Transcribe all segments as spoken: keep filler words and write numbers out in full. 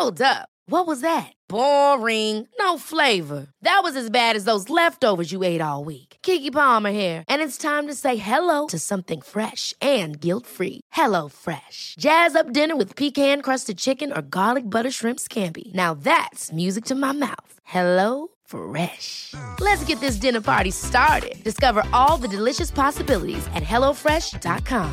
Hold up. What was that? Boring. No flavor. That was as bad as those leftovers you ate all week. Keke Palmer here, and it's time to say hello to something fresh and guilt-free. Hello Fresh. Jazz up dinner with pecan-crusted chicken or garlic butter shrimp scampi. Now that's music to my mouth. Hello Fresh. Let's get this dinner party started. Discover all the delicious possibilities at hello fresh dot com.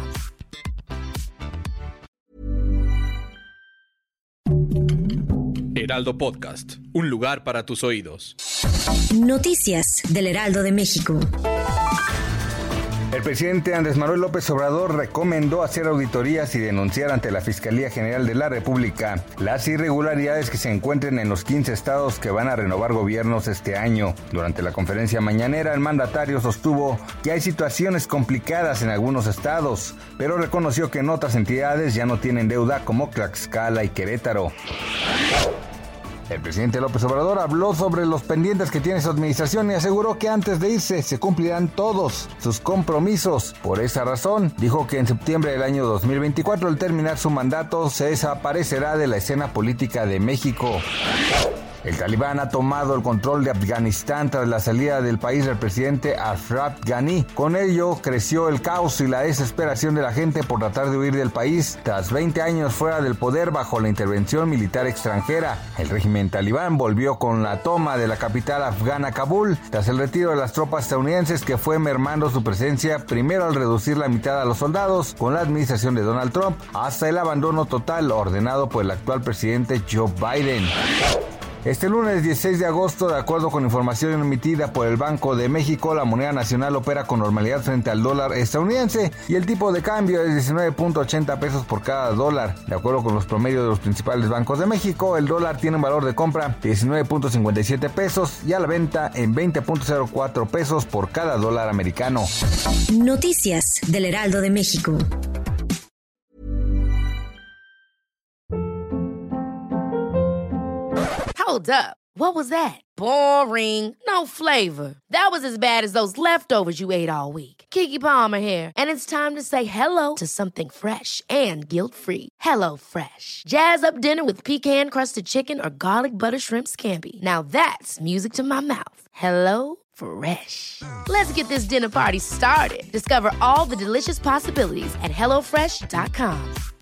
Heraldo Podcast, un lugar para tus oídos. Noticias del Heraldo de México. El presidente Andrés Manuel López Obrador recomendó hacer auditorías y denunciar ante la Fiscalía General de la República las irregularidades que se encuentren en los quince estados que van a renovar gobiernos este año. Durante la conferencia mañanera, el mandatario sostuvo que hay situaciones complicadas en algunos estados, pero reconoció que en otras entidades ya no tienen deuda como Tlaxcala y Querétaro. El presidente López Obrador habló sobre los pendientes que tiene su administración y aseguró que antes de irse se cumplirán todos sus compromisos. Por esa razón, dijo que en septiembre del año dos mil veinticuatro, al terminar su mandato, se desaparecerá de la escena política de México. El Talibán ha tomado el control de Afganistán tras la salida del país del presidente Ashraf Ghani. Con ello creció el caos y la desesperación de la gente por tratar de huir del país tras veinte años fuera del poder bajo la intervención militar extranjera. El régimen talibán volvió con la toma de la capital afgana Kabul tras el retiro de las tropas estadounidenses, que fue mermando su presencia primero al reducir la mitad a los soldados con la administración de Donald Trump hasta el abandono total ordenado por el actual presidente Joe Biden. Este lunes dieciséis de agosto, de acuerdo con información emitida por el Banco de México, la moneda nacional opera con normalidad frente al dólar estadounidense y el tipo de cambio es diecinueve punto ochenta pesos por cada dólar. De acuerdo con los promedios de los principales bancos de México, el dólar tiene un valor de compra de diecinueve punto cincuenta y siete pesos y a la venta en veinte punto cero cuatro pesos por cada dólar americano. Noticias del Heraldo de México. Hold up. What was that? Boring. No flavor. That was as bad as those leftovers you ate all week. Keke Palmer here, and it's time to say hello to something fresh and guilt-free. Hello Fresh. Jazz up dinner with pecan-crusted chicken or garlic butter shrimp scampi. Now that's music to my mouth. Hello Fresh. Let's get this dinner party started. Discover all the delicious possibilities at hello fresh dot com.